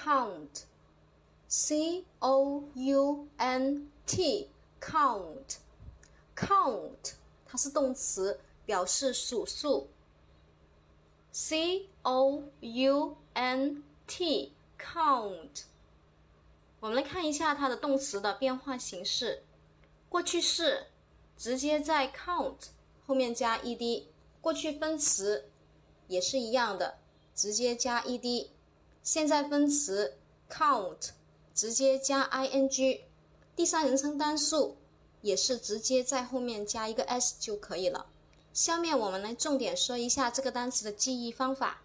count C-O-U-N-T count count 它是动词，表示数数。C-O-U-N-T count 我们来看一下它的动词的变化形式。过去式直接在 count 后面加 ed， 过去分词也是一样的，直接加 ed。 现在分词 count 直接加 ing， 第三人称单数也是直接在后面加一个 s 就可以了。下面我们来重点说一下这个单词的记忆方法。